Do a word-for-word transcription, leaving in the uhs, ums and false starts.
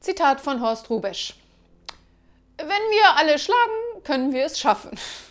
Zitat von Horst Hrubesch. Wenn wir alle schlagen, können wir es schaffen.